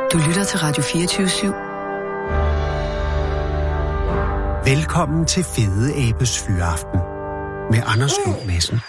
Du lytter til Radio 24/7. Velkommen til Fede Abes Fyraften med Anders Lund Madsen.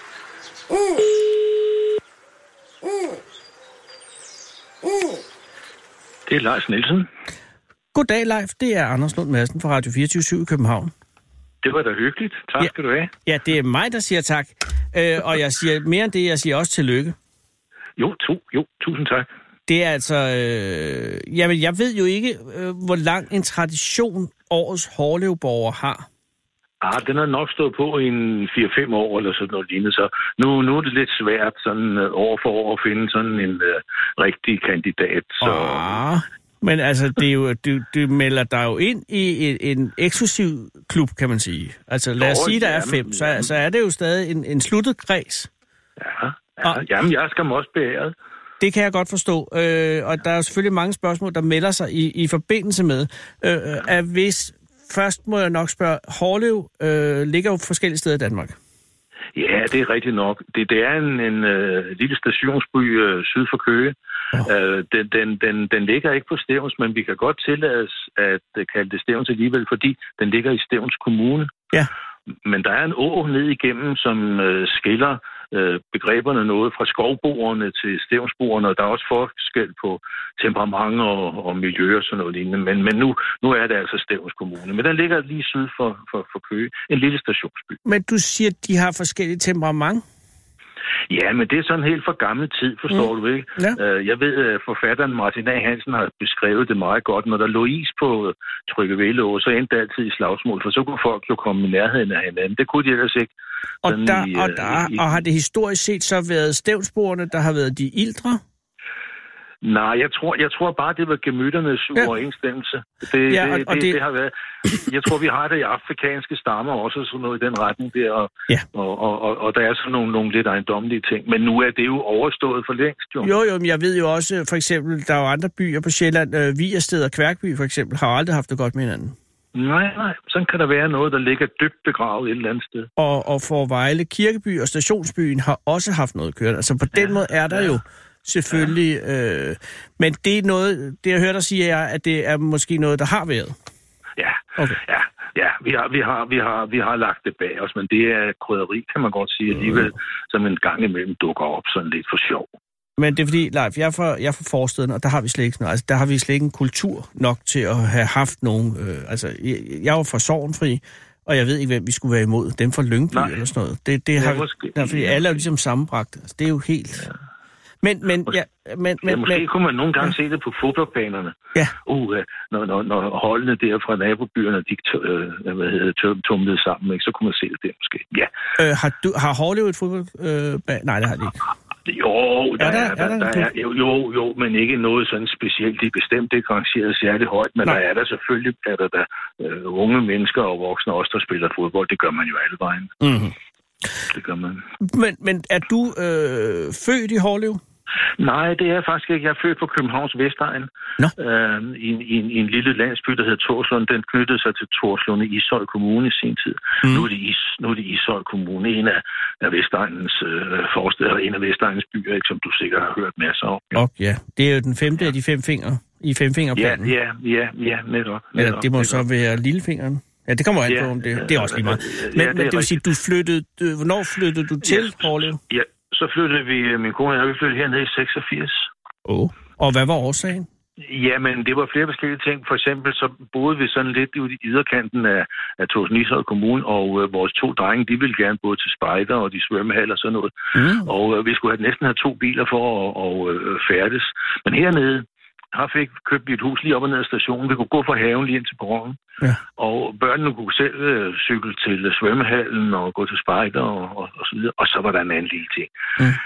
Det er Leif Nielsen. Goddag, Leif. Det er Anders Lund Madsen fra Radio 24/7 i København. Det var da hyggeligt. Tak skal du have. Ja, det er mig, der siger tak. Og jeg siger mere end det, jeg siger også tillykke. Jo, tusind tak. Det er altså... Jamen, jeg ved jo ikke, hvor lang en tradition årets Hårlevborger har. Den har nok stået på i en 4-5 år eller sådan noget lignende, så nu er det lidt svært sådan år for år at finde sådan en rigtig kandidat. Så... Men altså, det er jo, du melder dig jo ind i en eksklusiv klub, kan man sige. Altså, lad os sige, der er 5, så er det jo stadig en sluttet kreds. Ja. Jamen, jeg skal også beæret. Det kan jeg godt forstå, og der er jo selvfølgelig mange spørgsmål, der melder sig i forbindelse med, at hvis... Først må jeg nok spørge, Hårlev ligger jo forskellige steder i Danmark. Ja, det er rigtigt nok. Det er en lille stationsby syd for Køge. Den ligger ikke på Stevns, men vi kan godt tillade at kalde det Stevns alligevel, fordi den ligger i Stevns Kommune. Ja. Men der er en å ned igennem, som skiller begreberne noget fra skovboerne til stevnsboerne, og der er også forskel på temperament og miljø og sådan noget lignende. Men nu er det altså Stevns Kommune. Men den ligger lige syd for Køge. En lille stationsby. Men du siger, at de har forskellige temperament? Ja, men det er sådan helt for gammel tid, forstår du ikke? Ja. Jeg ved, at forfatteren Martin A. Hansen har beskrevet det meget godt. Når der lå is på Tryggevælåge, så endte det altid i slagsmål, for så kunne folk jo komme i nærheden af hinanden. Det kunne de ellers ikke. Og har det historisk set så været stevnsboerne, der har været de ældre? Nej, jeg tror bare, det var gemytternes uoverensstemmelse. Det har været... Jeg tror, vi har det i afrikanske stammer også, sådan noget i den retning der, og der er sådan nogle lidt ejendommelige ting. Men nu er det jo overstået for længst, jo. Jo, men jeg ved jo også, for eksempel, der er jo andre byer på Sjælland, Vigersted og Kværkby for eksempel, har aldrig haft det godt med hinanden. Nej, sådan kan der være noget, der ligger dybt begravet et eller andet sted. Og for Vejle Kirkeby og Stationsbyen har også haft noget kørt. Altså på den måde er der jo selvfølgelig, men det er noget, det jeg hørte dig sige er, at det er måske noget, der har været. Ja, okay. Ja, vi har lagt det bag os, men det er krydderi, kan man godt sige, alligevel, som en gang imellem dukker op sådan lidt for sjov. Men det er fordi, Leif, jeg er fra forsteden, og der har vi slet ikke noget. Altså, der har vi slet ikke en kultur nok til at have haft nogen. Jeg var fra Sorgenfri, og jeg ved ikke, hvem vi skulle være imod. Dem fra Lyngby eller sådan noget. Det har fordi alle er jo ligesom sammenbragt. Altså, det er jo helt... Ja. Men måske kunne man nogle gange se det på fodboldbanerne. Ja. Når holdene der fra nabobyerne, de tumlede sammen, ikke, så kunne man se det der måske. Ja. Har Hårlev et fodboldbane? Nej, det har de ikke. Jo, men ikke noget sådan specielt. Det er bestemt ikke rangeret særlig højt, men der er der selvfølgelig unge mennesker og voksne også, der spiller fodbold. Det gør man jo alle vejen. Mm-hmm. Det gør man. Men er du født i Hårlev? Nej, det er faktisk ikke. Jeg er født på Københavns Vestegn. I en lille landsby, der hedder Torslund. Den knyttede sig til Torslund i Ishøj Kommune i sin tid. Nu er det Ishøj Kommune, en af Vestegnens forsteder, en af Vestegnens byer, ikke, som du sikkert har hørt masser om. Ja. Det er jo den 5. af de 5 fingre i 5-fingerplanen. Ja, netop. Det må så være lillefingeren. Ja, det kommer an på, om det er også lige meget. Men det vil sige, hvornår flyttede du til Hårlev? Ja, så flyttede min kone og vi flyttede hernede i 86. Og hvad var årsagen? Jamen, det var flere forskellige ting. For eksempel så boede vi sådan lidt ude i yderkanten af Torsen Kommune, og vores 2 drenge, de ville gerne både til spejder og de svømmehal og sådan noget. Og vi skulle næsten have 2 biler for at færdes. Men hernede, her købte vi et hus lige op og ned af stationen. Vi kunne gå fra haven lige ind til perronen. Ja. Og børnene kunne selv cykle til svømmehallen og gå til spejder og så videre. Og så var der en anden lille ting.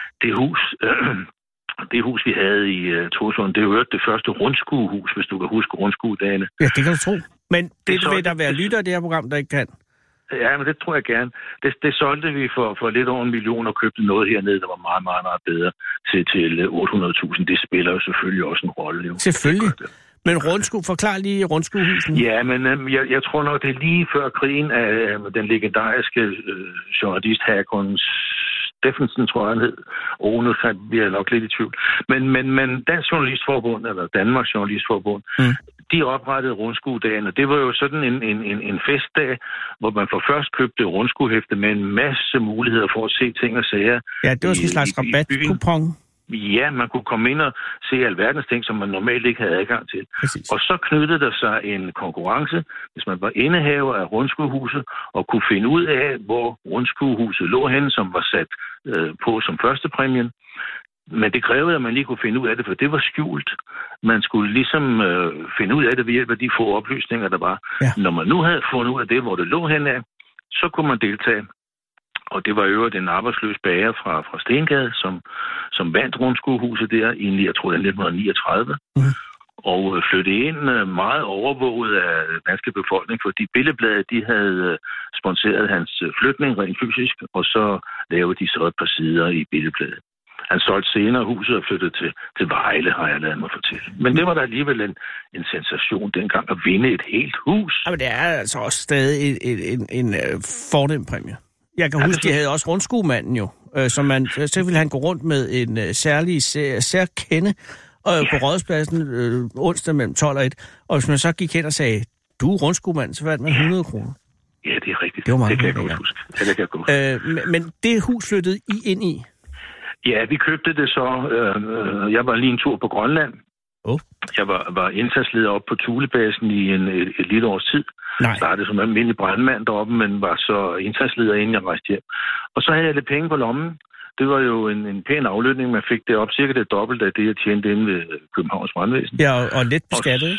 Det hus, vi havde i Torslund, det var det første rundskuehus, hvis du kan huske rundskuedagene. Ja, det kan du tro. Men det vil der være lytter af det her program, der ikke kan. Ja, men det tror jeg gerne. Det solgte vi for lidt over 1 million og købte noget hernede, der var meget, meget, meget bedre til 800.000. Det spiller jo selvfølgelig også en rolle. Jo. Selvfølgelig. Men forklar lige rundskuehusen. Ja, men jeg tror nok, det er lige før krigen af den legendariske journalist Hakon Steffensen, tror jeg, han hed. Nu bliver jeg nok lidt i tvivl. Men Dansk Journalistforbund, eller Danmarks Journalistforbund, de oprettede rundskuedagen, og det var jo sådan en festdag, hvor man for først købte rundskuehæfte med en masse muligheder for at se ting og sager. Ja, det var sådan en slags rabatkupon. Ja, man kunne komme ind og se alverdens ting, som man normalt ikke havde adgang til. Præcis. Og så knyttede der sig en konkurrence, hvis man var indehaver af rundskuehuset, og kunne finde ud af, hvor rundskuehuset lå henne, som var sat på som første præmien. Men det krævede, at man lige kunne finde ud af det, for det var skjult. Man skulle ligesom finde ud af det ved hjælp af de få oplysninger, der var. Ja. Når man nu havde fundet ud af det, hvor det lå henne af, så kunne man deltage. Og det var øvrigt en arbejdsløs bager fra Stengade, som vandt rundskuehuset der i, jeg tror, 1939. Og flyttede ind meget overvåget af den danske befolkning, fordi Billedbladet, de havde sponsoreret hans flytning rent fysisk, og så lavede de så et par sider i Billedbladet. Han solgte senere huset og flyttede til Vejle, har jeg ladet mig fortælle. Men det var da alligevel en sensation dengang at vinde et helt hus. Men det er altså også stadig en fornem præmie. Jeg kan huske, de havde også rundskuemanden jo, så ville han gå rundt med en særkende på Rådhuspladsen onsdag mellem 12 og 1. Og hvis man så gik hen og sagde, du er rundskuemand, så vandt man 100 kroner. Ja, det er rigtigt. Det var meget, det kan jeg godt huske. Det kan jeg godt. Men det hus flyttede I ind i? Ja, vi købte det så. Jeg var lige en tur på Grønland. Jeg var indsatsleder op på Thulebasen i et lille års tid. Jeg startede som almindelig brandmand deroppe, men var så indsatsleder, inden jeg rejste hjem. Og så havde jeg lidt penge på lommen. Det var jo en pæn aflønning, man fik det op. Cirka det dobbelte af det, jeg tjente inde ved Københavns Brandvæsen. Ja, og let beskattet,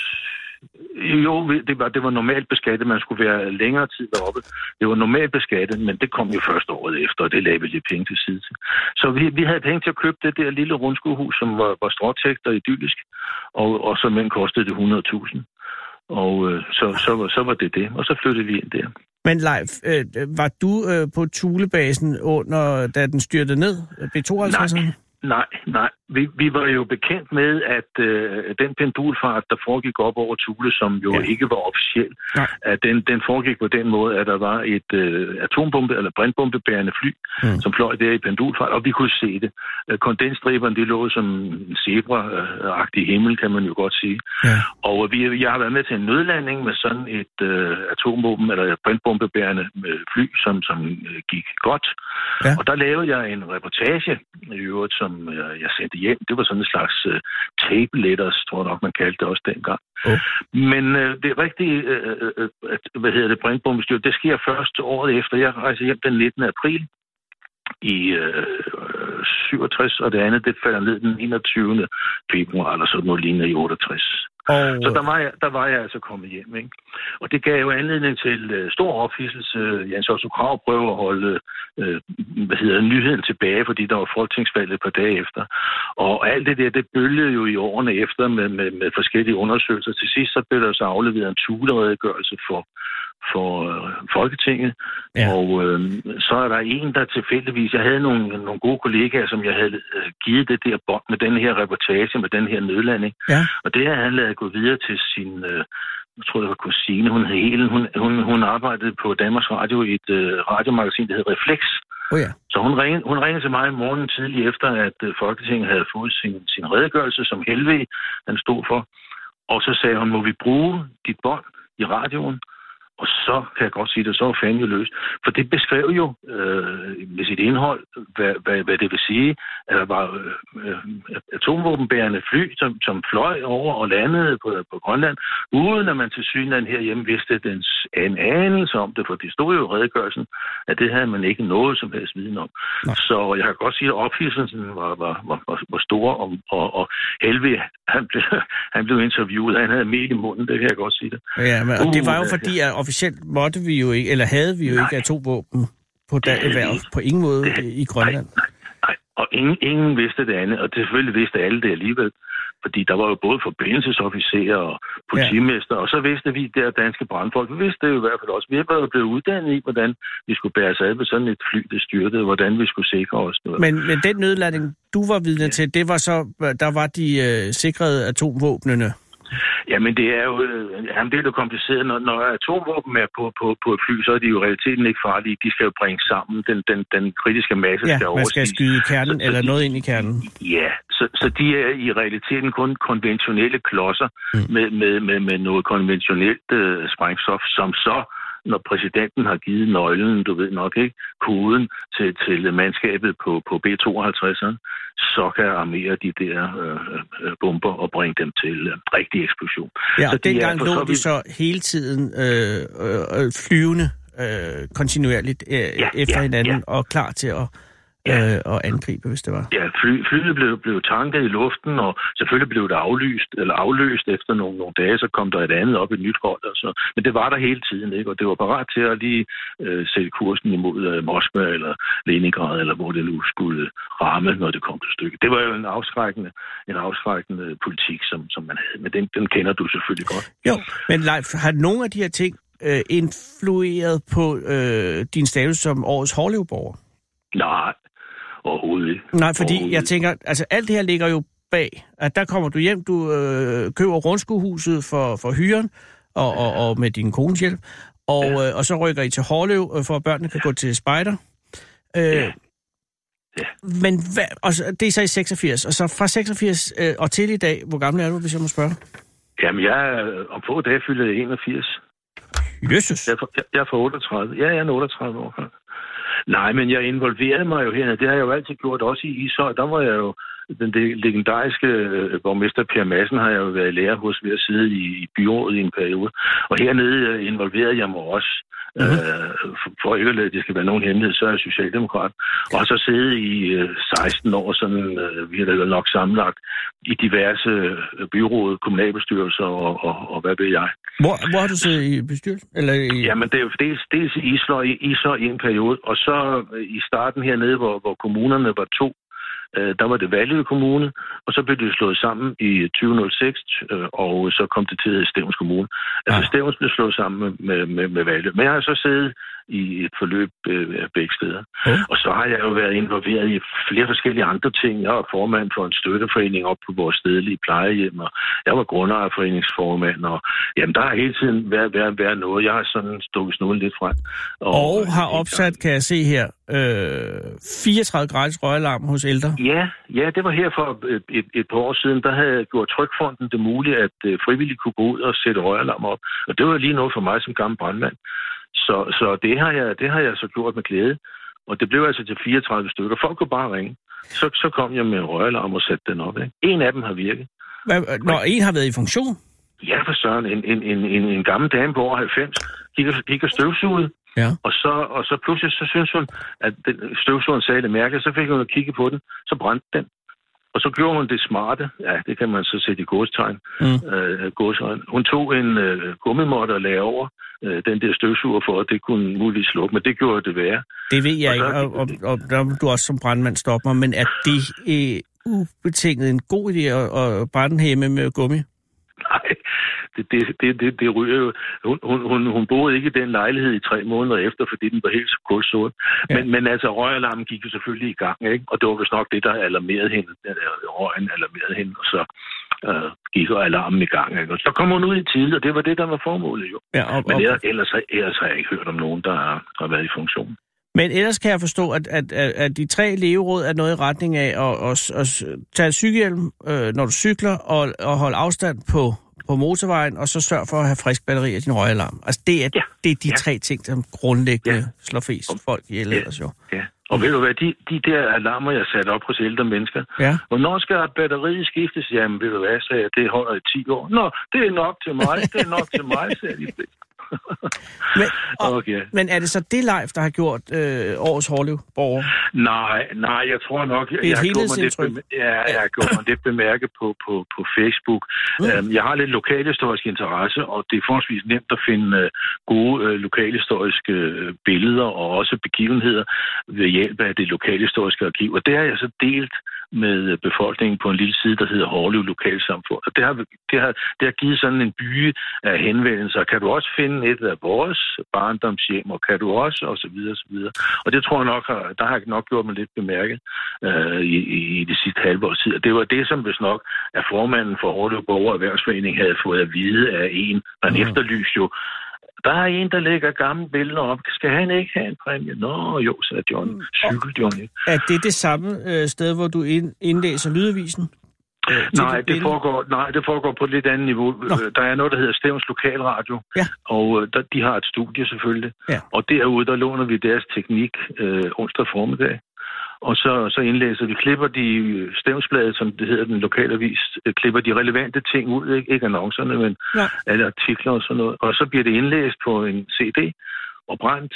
Jo, det var normalt beskattet. Man skulle være længere tid deroppe. Det var normalt beskattet, men det kom jo først året efter, og det lagde vi lidt penge til side til. Så vi havde penge til at købe det der lille rundskuehus, som var stråtægt og idyllisk, og så men kostede det 100.000. Og så var det. Og så flyttede vi ind der. Men Leif, var du på Thulebasen da den styrtede ned? B-52'eren? Nej. Vi var jo bekendt med, at den pendulfart, der foregik op over Thule, som jo ikke var officiel, at den foregik på den måde, at der var et atombombe- eller brandbombebærende fly, som fløj der i pendulfart, og vi kunne se det. Kondensstriberne, de lå som en zebra-agtig himmel, kan man jo godt sige. Ja. Og jeg har været med til en nødlanding med sådan et atombombe- eller brandbombebærende fly, som gik godt. Ja. Og der lavede jeg en reportage, i øvrigt, som jeg sendte hjem. Det var sådan en slags tape letters, tror jeg nok, man kaldte det også dengang. Men det er rigtigt, brandbombestyr, det sker først året efter. Jeg rejser hjem den 19. april i 67, og det andet, det falder ned den 21. februar, eller sådan noget lignende i 68. Så der var jeg altså kommet hjem, ikke? Og det gav jo anledning til stor ophidselse. Jens Otto Krag prøvede at holde nyheden tilbage, fordi der var folketingsvalg et par dage efter. Og alt det der, det bølgede jo i årene efter med forskellige undersøgelser. Til sidst så blev der så afleveret en Thule-redegørelse for Folketinget. Ja. Og så er der en, der tilfældigvis... Jeg havde nogle gode kollegaer, som jeg havde givet det der bånd med den her reportage, med den her nødlanding. Ja. Og det har han ladet gå videre til sin... jeg tror, det var kusine. Hun arbejdede på Danmarks Radio i et radiomagasin, der hed Reflex. Ja. Så hun ringede til mig i morgenen tidlig efter, at Folketinget havde fået sin redegørelse, som Helve han stod for. Og så sagde hun, må vi bruge dit bånd i radioen? Og så kan jeg godt sige det, så var fanden jo løs. For det beskrev jo med sit indhold, hvad det vil sige, at der var atomvåbenbærende fly, som fløj over og landede på Grønland, uden at man til synligheden herhjemme vidste en anelse om det, for det stod jo i redegørelsen, at det havde man ikke noget som helst viden om. Nej. Så jeg kan godt sige, at ophidselsen var stor, og Helve, han blev interviewet, han havde mel i munden, det kan jeg godt sige det. Ja, men det var jo fordi, at officielt måtte vi jo ikke, eller havde vi jo ikke atomvåben på ingen måde i Grønland. Nej. Og ingen vidste det andet, og det selvfølgelig vidste alle det alligevel. Fordi der var jo både forbindelsesofficerer og politimester, og så vidste vi der danske brandfolk. Vi vidste det jo i hvert fald også. Vi var jo blevet uddannet i, hvordan vi skulle bære os ad med sådan et fly, der styrtede, hvordan vi skulle sikre os noget. Men den nødlanding, du var vidne til, det var så, der var de sikrede atomvåbnene Jamen, det er jo det er jo kompliceret. Når atomvåben er på et fly, så er de jo i realiteten ikke farlige. De skal jo bringe sammen. Den kritiske masse skal overstiges. Man skal skyde kernen eller noget ind i kernen. Ja, så de er i realiteten kun konventionelle klodser med noget konventionelt sprængstof, som så, når præsidenten har givet nøglen, du ved nok ikke, koden til mandskabet på B-52'eren, så kan armere de der bomber og bringe dem til rigtig eksplosion. Ja, og dengang lå de så hele tiden flyvende kontinuerligt efter hinanden og klar til at angribe, hvis det var. Ja, flyet blev tanket i luften, og selvfølgelig blev det aflyst efter nogle dage, så kom der et andet op, et nyt hold. Altså. Men det var der hele tiden, ikke? Og det var parat til at lige sætte kursen imod Moskva eller Leningrad, eller hvor det nu skulle ramme, når det kom til stykket. Det var jo en afskrækkende politik, som man havde, men den kender du selvfølgelig godt. Jo, men Leif, har nogle af de her ting influeret på din status som årets Hårlev-borger? Nej. Overhovedet ikke. Nej, fordi jeg tænker, altså alt det her ligger jo bag, at der kommer du hjem, du køber rundskuehuset for hyren, og med din kones hjælp, og så rykker I til Hårlev, for at børnene kan gå til spejder. Men det er så i 86, og så fra 86 og til i dag, hvor gammel er du, hvis jeg må spørge? Jamen, om få dage fylder jeg 81. Jesus! Jeg er fra 38. Ja, jeg er 38 år. Nej, men jeg involverede mig jo hernede. Det har jeg jo altid gjort, også i Ishøj. Der var jeg jo, den legendariske borgmester Per Madsen har jeg jo været lærer hos ved at sidde i byrådet i en periode. Og hernede involverede jeg mig også. For ikke at lade det skal være nogen hemmelighed, så er jeg socialdemokrat. Og så sidde i 16 år, sådan, vi har da nok sammenlagt, i diverse byråd, kommunalbestyrelser og hvad ved jeg. Hvor har du siddet i bestyrelsen? Jamen, det er jo dels i Ishøj i en periode, og så i starten hernede, hvor kommunerne var 2, der var det Vallø Kommune, og så blev det slået sammen i 2006, og så kom det til Stevns Kommune. Altså Stevns blev slået sammen med Vallø. Men jeg har så siddet i et forløb begge steder. Og så har jeg jo været involveret i flere forskellige andre ting. Jeg var formand for en støtteforening op på vores stedlige plejehjem, og jeg var grundejerforeningsformand, og jamen, der har hele tiden været noget. Jeg har sådan stukket snuden lidt frem. Og har opsat, kan jeg se her, 34 gratis røgalarm hos ældre. Ja, det var her for et par år siden. Der havde gjort Trygfonden det muligt, at frivillige kunne gå ud og sætte røgalarm op. Og det var lige noget for mig som gammel brandmand. Så det har jeg så gjort med glæde. Og det blev altså til 34 stykker. Folk kunne bare ringe. Så kom jeg med en røgalarm og satte den op. Ikke? En af dem har virket. En har været i funktion? Ja, for søren. En gammel dame på over 90 gik og støvsugede. Ja. Og så pludselig så synes hun, at støvsugeren sagde det mærke, så fik hun at kigge på den, så brændte den. Og så gjorde hun det smarte, ja, det kan man så sætte i godstegn. Hun tog en gummimåtte og lagde over den der støvsuger for, at det kunne muligvis slukke, men det gjorde det værre. Det ved jeg ikke, og der du også som brandmand stopper mig, men er det ubetinget en god idé at brænde hjemme med gummi? Nej, det ryger jo. Hun boede ikke i den lejlighed i 3 måneder efter, fordi den var helt så kulsort. Ja. Men altså, røgalarmen gik jo selvfølgelig i gang, ikke? Og det var vist nok det, der alarmerede hende. Røgen alarmerede hende, og så gik alarmen i gang, ikke? Og så kom hun ud i tide, og det var det, der var formålet jo. Ja, men ellers har jeg ikke hørt om nogen, der har været i funktion. Men ellers kan jeg forstå, at de 3 leveråd er noget i retning af at tage cykelhjelm, når du cykler, og holde afstand på motorvejen, og så sørge for at have frisk batteri af din røgalarm. Altså, det er de 3 ting, som grundlæggende slår flest folk ihjel ellers jo. Ja. Og ved du hvad, de der alarmer, jeg satte op hos ældre mennesker, hvornår skal batteriet skiftes? Jamen, ved du hvad, sagde jeg, det holder i 10 år. Nå, det er nok til mig, sagde de. Men er det så det Leif, der har gjort årets Hårlev-borger? Nej, jeg tror nok, jeg har gjort mig lidt bemærket på Facebook. Jeg har lidt lokalhistorisk interesse, og det er forholdsvis nemt at finde gode lokalhistoriske billeder og også begivenheder ved hjælp af det lokalhistoriske arkiv. Og det har jeg så delt med befolkningen på en lille side, der hedder Hårlev Lokalsamfund. Og det har givet sådan en by af henvendelser. Kan du også finde et af vores barndomshjem, og kan du også, og så videre, og så videre. Og det tror jeg nok, der har jeg nok gjort mig lidt bemærket i det sidste halve års tid. Og det var det, som hvis nok, at formanden for Hårlev Borger Erhvervsforening havde fået at vide af en, man efterlyste jo. Der er en, der lægger gamle billeder op. Skal han ikke have en præmie? Nå, jo, sagde John. Cykel, John. Er det samme sted, hvor du indlæser lydavisen? Nej, det foregår på et lidt andet niveau. Nå. Der er noget, der hedder Stevns Lokalradio, og de har et studie selvfølgelig. Ja. Og derude, der låner vi deres teknik onsdag formiddag. Og så indlæser vi, klipper de Stevnsbladet, som det hedder den lokalavis, klipper de relevante ting ud, ikke annoncerne, men alle artikler og sådan noget. Og så bliver det indlæst på en CD, og brændt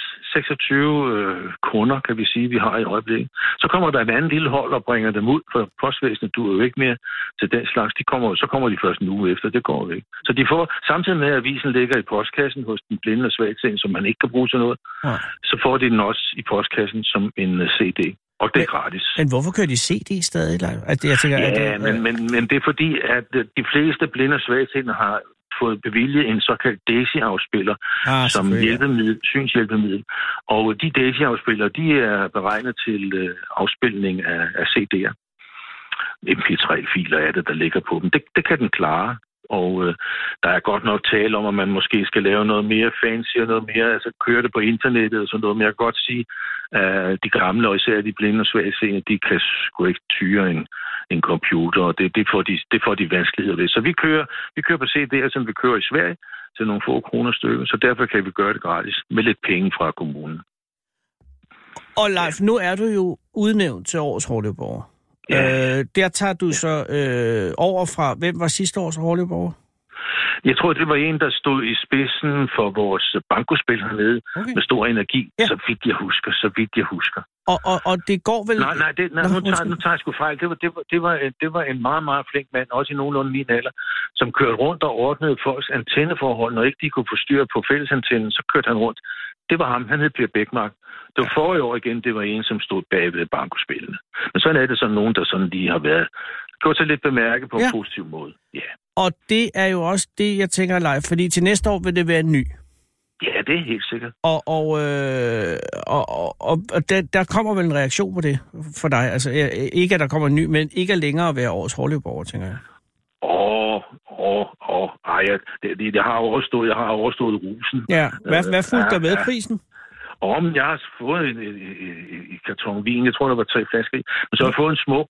26 kunder, kan vi sige, vi har i øjeblikket. Så kommer der et andet lille hold og bringer dem ud, for postvæsenet duer jo ikke mere til den slags. Så kommer de først en uge efter, det går jo ikke. Så de får, samtidig med at avisen ligger i postkassen hos den blinde og svagtseende, som man ikke kan bruge til noget, så får de den også i postkassen som en CD. Og det er gratis. Men hvorfor kører de CD stadig? Men det er fordi, at de fleste blinde og svagtseende har fået bevilget en såkaldt DAISY-afspiller som synshjælpemiddel. Og de DAISY-afspillere, de er beregnet til afspilning af CD'er. MP3-filer er det, der ligger på dem. Det kan den klare. Og der er godt nok tale om, at man måske skal lave noget mere fancy og noget mere, altså køre det på internettet og sådan noget. Men jeg kan godt sige, at de gamle, og især de blinde og svagtseende, de kan sgu ikke tyre en computer, og det får de vanskeligheder ved. Så vi kører på CD'er, som vi kører i Sverige, til nogle få kroner stykker, så derfor kan vi gøre det gratis, med lidt penge fra kommunen. Og Leif, nu er du jo udnævnt til årets Hårlev-borger. Ja. Der tager du så over fra, hvem var sidste års Hårlev-borger? Jeg tror, det var en, der stod i spidsen for vores bankospil hernede, med stor energi, så vidt jeg husker. Og det går vel... Nu tager jeg sgu fejl. Det var en meget, meget flink mand, også i nogenlunde min alder, som kørte rundt og ordnede folks antenneforhold. Når ikke de kunne få styr på fællesantennen, så kørte han rundt. Det var ham. Han hed Per Bækmark. Det var forrige år igen, det var en, som stod bag ved bankospillene. Men sådan er det sådan nogen, der sådan lige har været gjort sig lidt bemærket på en positiv måde. Ja. Og det er jo også det, jeg tænker, Leif, fordi til næste år vil det være ny. Ja, det er helt sikkert. Og der kommer vel en reaktion på det for dig? Altså ikke, at der kommer en ny, men ikke at længere være årets Hårlev-borger, tænker jeg. Jeg har overstået rusen. Ja, hvad fulgte der med prisen? Men jeg har fået en karton vin, jeg tror, der var 3 flasker i. Men så har jeg fået en smuk,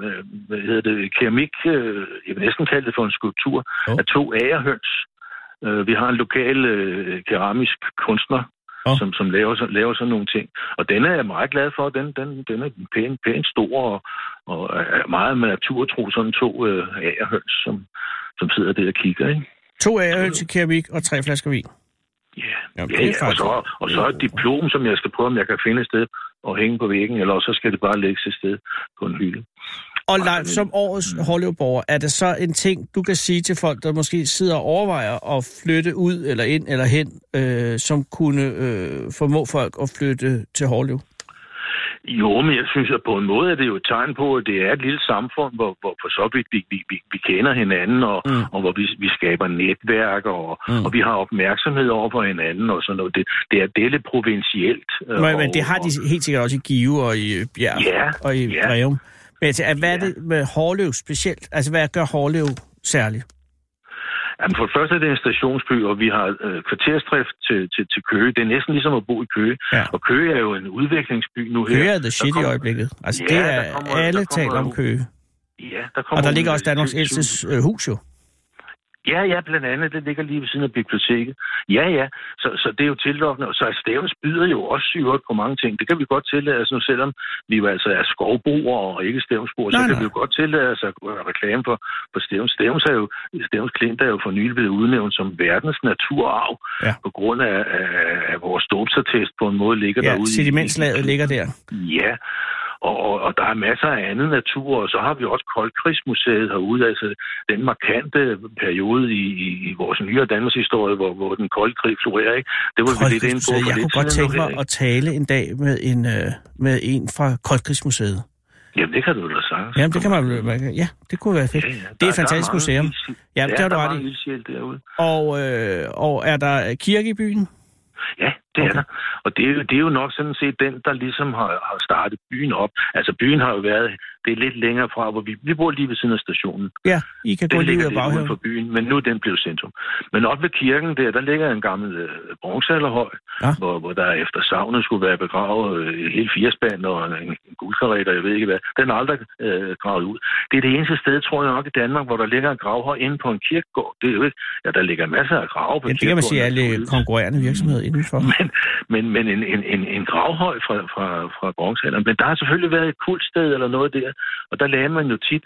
keramik, jeg vil næsten kalde det for en skulptur, af 2 agerhøns. Vi har en lokal keramisk kunstner, som laver sådan nogle ting. Og den er jeg meget glad for. Den er pænt stor og er meget med naturtro, sådan 2 agerhøns, som sidder der og kigger, ikke? 2 agerhøns i keramik og 3 flasker vin. Ja. Og så et diplom, som jeg skal prøve, om jeg kan finde et sted og hænge på væggen, eller så skal det bare lægges et sted på en hylde. Og Leif, som årets Hårlev-borger, er det så en ting, du kan sige til folk, der måske sidder og overvejer at flytte ud eller ind eller hen, som kunne formå folk at flytte til Hårlev? Jo, men jeg synes, at på en måde er det jo et tegn på, at det er et lille samfund, hvor for så vidt vi kender hinanden, og hvor vi skaber netværk, og vi har opmærksomhed over for hinanden, og sådan noget. Det er lidt provincielt. Men det har de helt sikkert også i Give og i Bjerg og i Breum. Men hvad er det med Hårlev specielt? Altså, hvad gør Hårlev særligt? Jamen, for det første er det en stationsby, og vi har kvarterstræft til Køge. Det er næsten ligesom at bo i Køge. Ja. Og Køge er jo en udviklingsby nu her. Køge er the shit i øjeblikket. Altså, det er alle taler om Køge. Ja, og der ligger også Danmarks ældste hus jo. Ja, blandt andet. Det ligger lige ved siden af biblioteket. Ja. Så det er jo tillokkende. Og så Stevns byder jo også på mange ting. Det kan vi godt tillade os nu, selvom vi jo altså er skovboere og ikke stevnsboere. Så kan vi jo godt tillade os at reklame for Stevns. Stevns Klint er jo for nylig blevet udnævnt som verdens naturarv. Ja. På grund af vores dåbsattest på en måde ligger derude. Ja, sedimentslaget ligger der. Ja. Og der er masser af andet natur, og så har vi også Koldkrigsmuseet herude, altså den markante periode i vores nyere Danmarks historie, hvor den kolde krig florerer, ikke? Det var vi lidt inde på. Jeg kunne godt tænke mig at tale en dag med en fra Koldkrigsmuseet. Jamen, det kan du da sige. Jamen, det kan man. Ja, det kunne være fedt. Ja, det er et fantastisk museum. Ja, det har du ret i. Og er der kirke i byen? Ja, det er der. Og det er jo nok sådan set den, der ligesom har startet byen op. Altså, byen har jo været... Det er lidt længere fra, hvor vi bor lige ved siden af stationen. Ja, I kan gå lige ud af baghaven. For byen, men nu er den blevet centrum. Men op ved kirken der ligger en gammel bronzealderhøj, hvor der efter savnet skulle være begravet hele 4-spand og en guldkaret, og jeg ved ikke hvad. Den er aldrig gravet ud. Det er det eneste sted, tror jeg nok, i Danmark, hvor der ligger en gravhøj inde på en kirkegård. Det er jo ikke... Ja, der ligger masser af grave på kirkegården. Det kan man sige, alle konkurrerende virksomheder indenfor. Men en gravhøj fra bronzealderen. Men der har selvfølgelig været et kultsted eller noget der. Og der lagde man jo tit,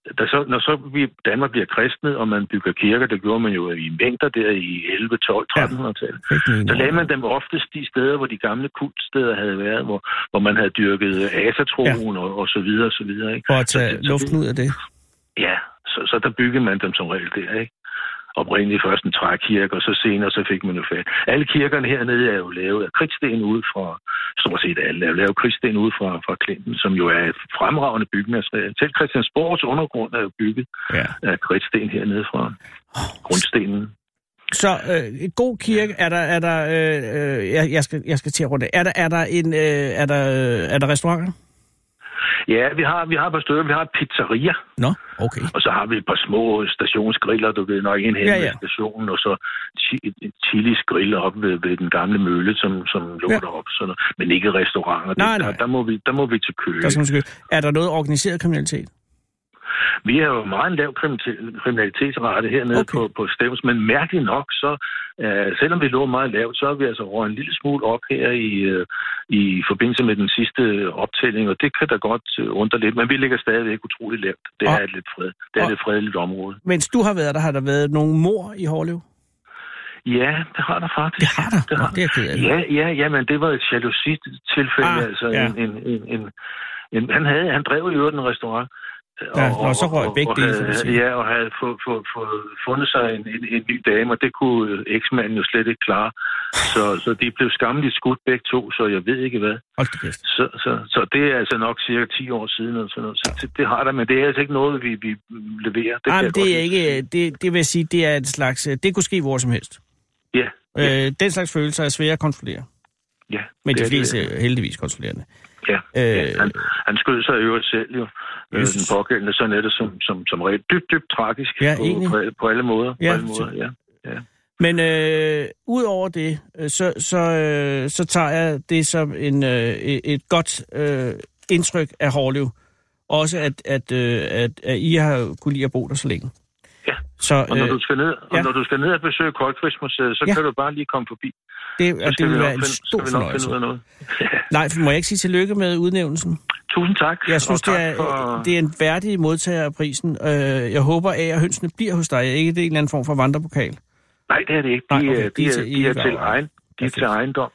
når Danmark bliver kristnet, og man bygger kirker, det gjorde man jo i mængder der i 11, 12, 1300-tallet. Så lagde man dem oftest de steder, hvor de gamle kultsteder havde været, hvor man havde dyrket asatroen og så videre, og så videre. Ikke? For at tage luften ud af det? Ja, så der byggede man dem som regel der, ikke? Oprindeligt først en trækirke, og så senere så fik man jo fat. Alle kirkerne hernede er jo lavet af kridtsten ud fra, stort set alle er lavet kridtsten ud fra Klinten, som jo er et fremragende byggemateriale. Selv Christiansborgs undergrund er jo bygget af kridtsten hernede fra grundstenen. Så en god kirke, er der jeg skal til at runde. Er der restauranter? Ja, vi har et par stykker. Vi har et pizzeria. Nå, okay. Og så har vi et par små stationsgriller, du ved nok, en hen ved stationen, og så Chilis grill op ved den gamle mølle, som lå derop. Men ikke restauranter. Nej. Der må vi til Køge. Er der noget organiseret kriminalitet? Vi har jo meget lav kriminalitetsrate hernede på Stevns, men mærkeligt nok, så selvom vi lå meget lavt, så er vi altså røget en lille smule op her i forbindelse med den sidste optælling, og det kan da godt undre lidt, men vi ligger stadigvæk utroligt lavt. Det er et lidt fredeligt område. Mens du har været der, har der været nogle mord i Hårlev? Ja, det har der faktisk. Det har der? Det er ked af. Ja, men det var et jalousi-tilfælde. Han drev i øvrigt en restaurant. Og så røg begge dele. Ja, og havde fundet sig en ny dame, og det kunne eksmanden jo slet ikke klare. Så de blev skammeligt skudt begge to, så jeg ved ikke hvad. Så det er altså nok cirka 10 år siden. Og sådan noget. Så det har der, men det er altså ikke noget, vi leverer. Det er ikke. Det vil sige, det er et slags. Det kunne ske hvor som helst. Ja. Den slags følelser er svære at kontrollere. Ja. Men de fleste er heldigvis kontrollerende. Ja, han skød sig i øvrigt selv jo. Den pågældende, sådan er det som regel dybt tragisk på alle måder. Ja. Men ud over det, så tager jeg det som et godt indtryk af Hårlev. Også at I har kunne lide at bo der så længe. Ja, og når du skal ned og besøge Koldkrigsmuseet, så kan du bare lige komme forbi. Det vil være en stor fornøjelse. Nej, må jeg ikke sige tillykke med udnævnelsen? Tusind tak. Jeg synes, det er en værdig modtager af prisen. Jeg håber, at hønsene bliver hos dig. Ikke det er en eller anden form for vandrepokal? Nej, det er det ikke. De er til ejendom.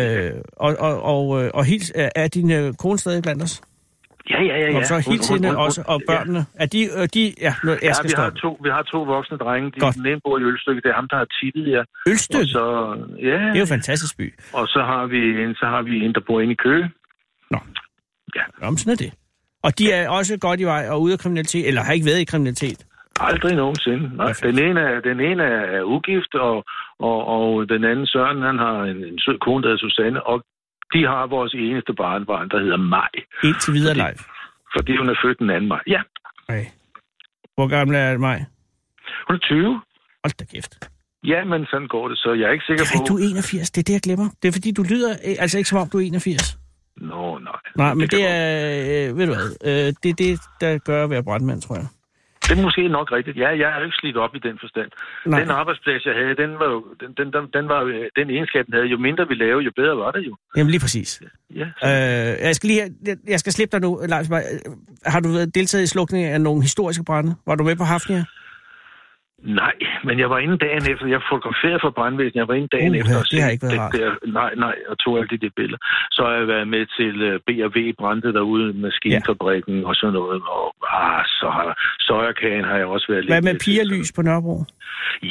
Og hils, er din kone stadig blandt os? Ja. Og så hils hende også, og børnene. Er de vi har to voksne drenge. Den ene bor i Ølstykke. Det er ham, der har tippet jer. Ølstykke? Det er jo en fantastisk by. Og så har vi en, der bor inde i Køge. Nå. Ja. Jamen, sådan er det. Og de er også godt i vej og ude af kriminalitet, eller har ikke været i kriminalitet? Aldrig nogensinde. Nej. Den ene er ugift, og den anden Søren, han har en sød kone, der hedder Susanne, og de har vores eneste barnebarn, der hedder Maj. Indtil videre live. Fordi hun er født den 2. maj. Ja. Okay. Hvor gammel er Maj? Hun er 20. Hold da kæft. Ja, men sådan går det, så jeg er ikke sikker på... Du er 81, det er det, jeg glemmer. Det er fordi, du lyder altså ikke som om, du er 81. Nej. Nej, men det er... ved du hvad? Det er det, der gør at være brandmand, tror jeg. Det er måske nok rigtigt. Ja, jeg er jo ikke slidt op i den forstand. Nej. Den arbejdsplads, jeg havde, den egenskab, den havde. Jo mindre vi lavede, jo bedre var det jo. Jamen lige præcis. Ja. Jeg skal slippe dig nu, Leif. Har du deltaget i slukningen af nogle historiske brande? Var du med på Hafnia? Nej, men jeg var inde dagen efter. Jeg fotograferede for brandvæsenet. Jeg var inde dagen efter. Det har ikke været rart. Nej, og tog alle de billeder. Så har jeg været med til B&V brandte derude, maskinfabrikken og sådan noget. Og så har Søjerkagen har jeg også været lidt. Hvad med pigerlys på Nørrebro? Ja,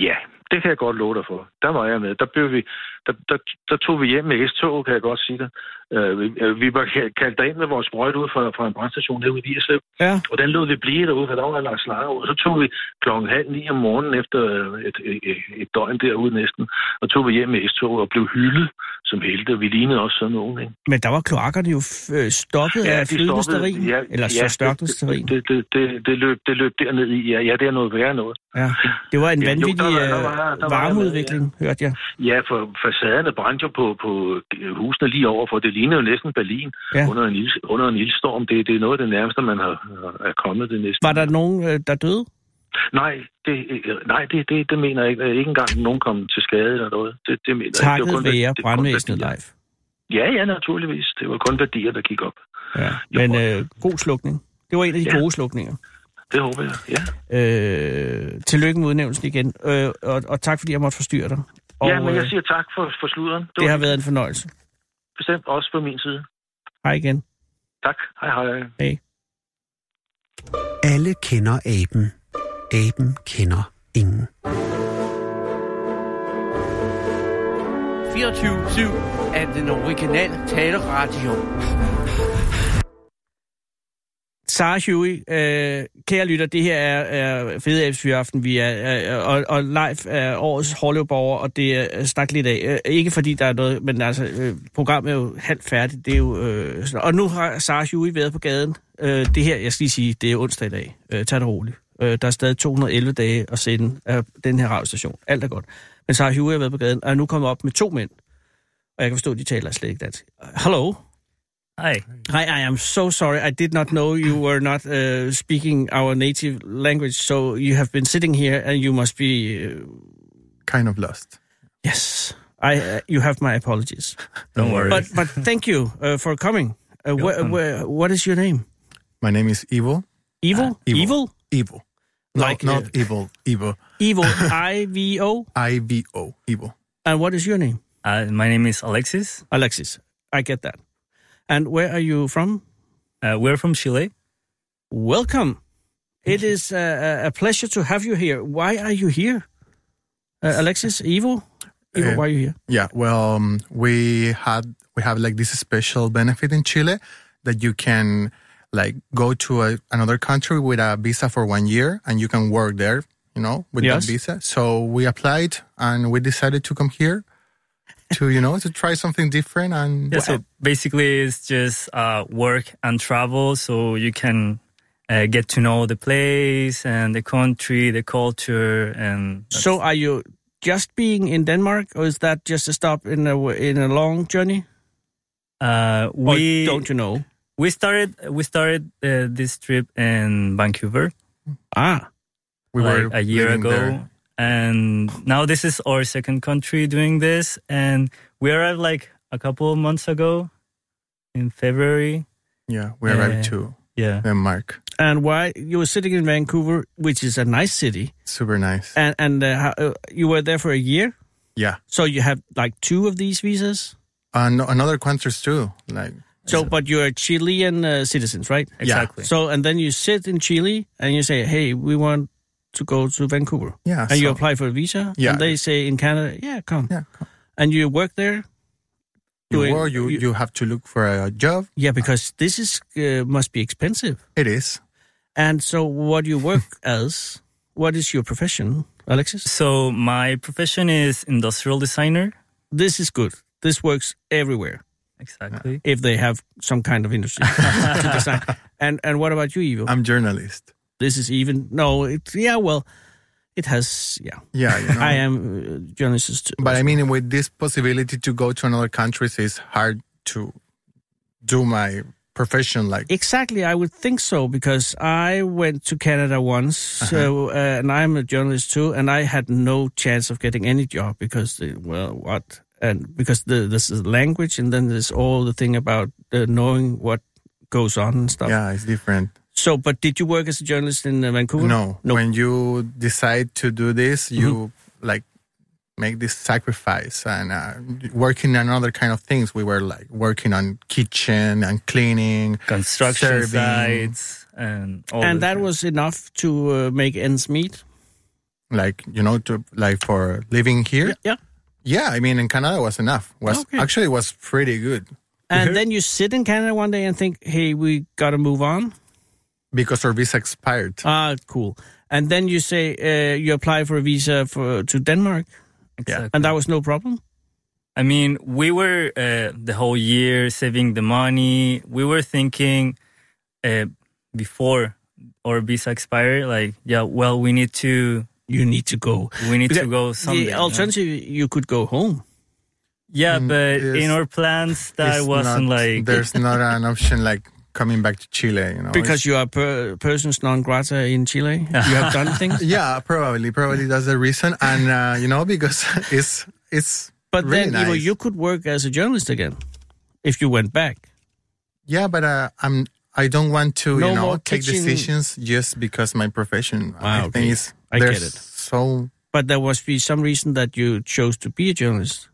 Det kan jeg godt love dig for. Der var jeg med. Der tog vi hjem med S-tog, kan jeg godt sige det. Vi var kaldt derind med vores sprøjt ud fra en brandstation herude i Vigerslev. Ja. Og den lod vi blive derude, for der var lagt slanger ud. Så tog vi 8:30 om morgenen efter et døgn derude næsten, og tog vi hjem med S-tog og blev hyldet som helte. Vi lignede også sådan nogen, ikke? Men der var kloakkerne jo stoppet af flydende stearin, eller så størknet stearin. Det løb derned i. Ja, det er noget værre noget. Ja, det var en vanvittig varmeudvikling, hørte jeg. Ja, for facaderne brændte jo på husene lige over, for det lignede jo næsten Berlin under en ildstorm. Det er noget af det nærmeste, man er kommet det næsten. Var der nogen, der døde? Nej, det mener jeg ikke. Ikke engang nogen kom til skade eller noget. Det mener jeg. Takket være brandvæsenet live. Ja, naturligvis. Det var kun værdier, der gik op. Ja, men god slukning. Det var en af de gode slukninger. Det håber jeg, ja. Tillykke med udnævnelsen igen, og tak fordi jeg måtte forstyrre dig. Og, ja, men jeg siger tak for sluderen. Det har været en fornøjelse. Bestemt også på min side. Hej igen. Tak. Hej. Hej. Alle kender aben. Aben kender ingen. 24/7 er den originale taleradio. Sarah Huey, kære lytter, det her er Fede Abes Fyraften, vi og live er årets Hårløvborger, og det er snak lidt af. Ikke fordi der er noget, men altså, programmet er jo halvt færdigt, det er jo... og nu har Sarah Huey været på gaden. Det her, jeg skal lige sige, det er onsdag i dag. Tag det roligt. Der er stadig 211 dage at sende af den her radiostation. Alt er godt. Men Sarah Huey har været på gaden, og er nu kommet op med 2 mænd. Og jeg kan forstå, at de taler slet ikke dansk. Hello. Hi, I am so sorry. I did not know you were not speaking our native language, so you have been sitting here and you must be... kind of lost. Yes. You have my apologies. Don't worry. But thank you for coming. What is your name? My name is Ivo. Evil? Evil. Ivo. Like, not evil. Ivo. Evil. I-V-O? I-V-O. Ivo. And what is your name? My name is Alexis. Alexis. I get that. And where are you from? We're from Chile. Welcome. It is a pleasure to have you here. Why are you here? Alexis, Ivo, why are you here? Yeah, well, we have like this special benefit in Chile that you can like go to another country with a visa for 1 year and you can work there, with that visa. So we applied and we decided to come here to try something different. And so basically it's just work and travel, so you can get to know the place and the country, the culture. And so are you just being in Denmark, or is that just a stop in a long journey? Don't you know? We started this trip in Vancouver. We were a year ago. There. And now this is our second country doing this. And we arrived like a couple of months ago in February. Yeah, we arrived to Denmark. And why you were sitting in Vancouver, which is a nice city. Super nice. And you were there for a year? Yeah. So you have like 2 of these visas? Another countries too. But you're Chilean citizens, right? Exactly. So, and then you sit in Chile and you say, hey, we want to go to Vancouver. Yeah. And you apply for a visa. Yeah. And they say in Canada, come. Yeah, come. And you work there? You have to look for a job. Yeah, because this must be expensive. It is. And so what do you work as? What is your profession, Alexis? So my profession is industrial designer. This is good. This works everywhere. Exactly. If they have some kind of industry to design. And what about you, Ivo? I'm journalist. This is even... No, it has... Yeah. Yeah, I am journalist too. But I mean, with this possibility to go to another countries, it's hard to do my profession like... Exactly, I would think so, because I went to Canada once, and I'm a journalist too, and I had no chance of getting any job because, what... And because this is language, and then there's all the thing about knowing what goes on and stuff. Yeah, it's different. So, but did you work as a journalist in Vancouver? No. When you decide to do this, you make this sacrifice and working on other kind of things. We were like working on kitchen and cleaning, construction serving. sites, and all. And that was enough to make ends meet. like, for living here. Yeah. Yeah, I mean, in Canada was enough. Actually, it was pretty good. And then you sit in Canada one day and think, hey, we got to move on? Because our visa expired. Ah, cool. And then you say you apply for a visa to Denmark? Exactly. And that was no problem? I mean, we were the whole year saving the money. We were thinking before our visa expired, like, we need to... You need to go. We need to go someday. The alternative, you could go home. Yeah, but in our plans, that wasn't like... There's not an option like coming back to Chile, Because you are persons non grata in Chile? You have done things? Yeah, probably. Probably that's the reason. And, because it's But really then, nice. you could work as a journalist again if you went back. Yeah, but I don't want to, more take teaching. decisions just because my profession. I think is I get it. So... But there must be some reason that you chose to be a journalist.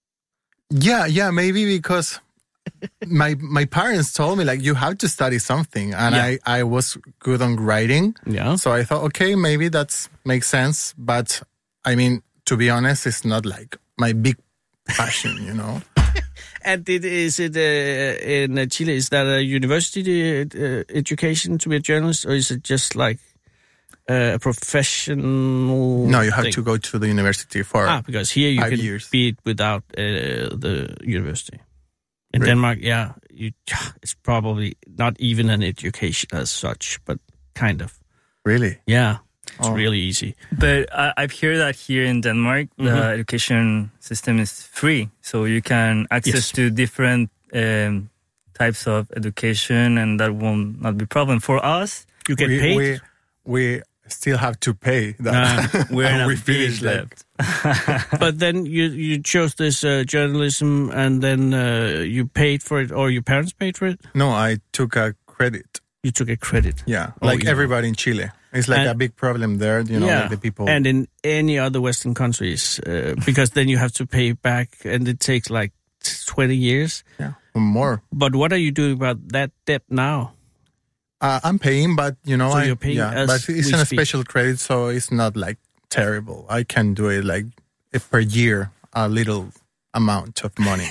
Yeah, maybe because my parents told me, like, you have to study something. And I was good on writing. Yeah. So I thought, okay, maybe that makes sense. But, I mean, to be honest, it's not like my big passion, And is it in Chile, is that a university education to be a journalist, or is it just like a professional No, you have thing? to go to the university for because here you 5 can years. be it without the university. In Denmark, it's probably not even an education as such, but kind of. Really? Yeah, it's really easy. But I've heard that here in Denmark, the education system is free. So you can access to different types of education, and that will not be a problem. For us, You get paid. We still have to pay that. we're And not we being finished like... left. But then you chose this journalism, and then you paid for it, or your parents paid for it? No, I took a credit. You took a credit. Yeah, everybody in Chile. It's like a big problem there, like the people... And in any other Western countries, because then you have to pay back, and it takes like 20 years. Yeah, or more. But what are you doing about that debt now? I'm paying, but, So you're paying as but it's we a speak. special credit, so it's not like terrible. I can do it like per year, a little amount of money.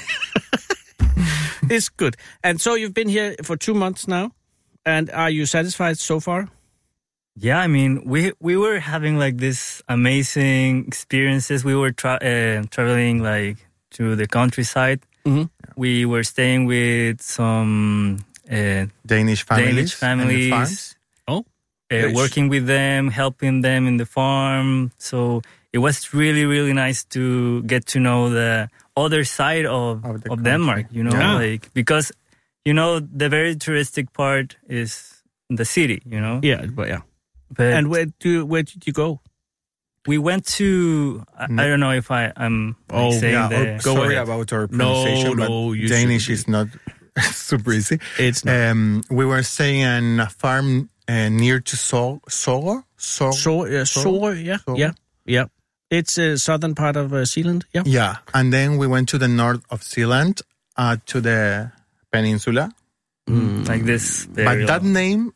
It's good. And so you've been here for 2 months now, and are you satisfied so far? Yeah, I mean, we were having like this amazing experiences. We were traveling like to the countryside. Mm-hmm. We were staying with some Danish families. and the farms. Oh, working with them, helping them in the farm. So it was really, really nice to get to know the other side of Denmark, because, the very touristic part is the city, Yeah, but yeah. But And where did you go? we went to, I don't know if I'm saying the... Sorry about our pronunciation, but Danish is not super easy. It's not. We were staying in a farm near to Sorø. Yeah. It's a southern part of Zealand, yeah. Yeah, and then we went to the north of Zealand, to the peninsula. Like this. But that name,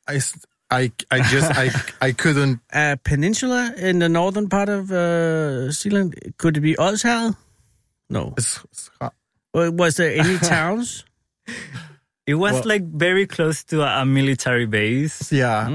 I couldn't... A peninsula in the northern part of Zealand, could it be Odsherred? No. Was there any towns? It was like very close to a military base. Yeah.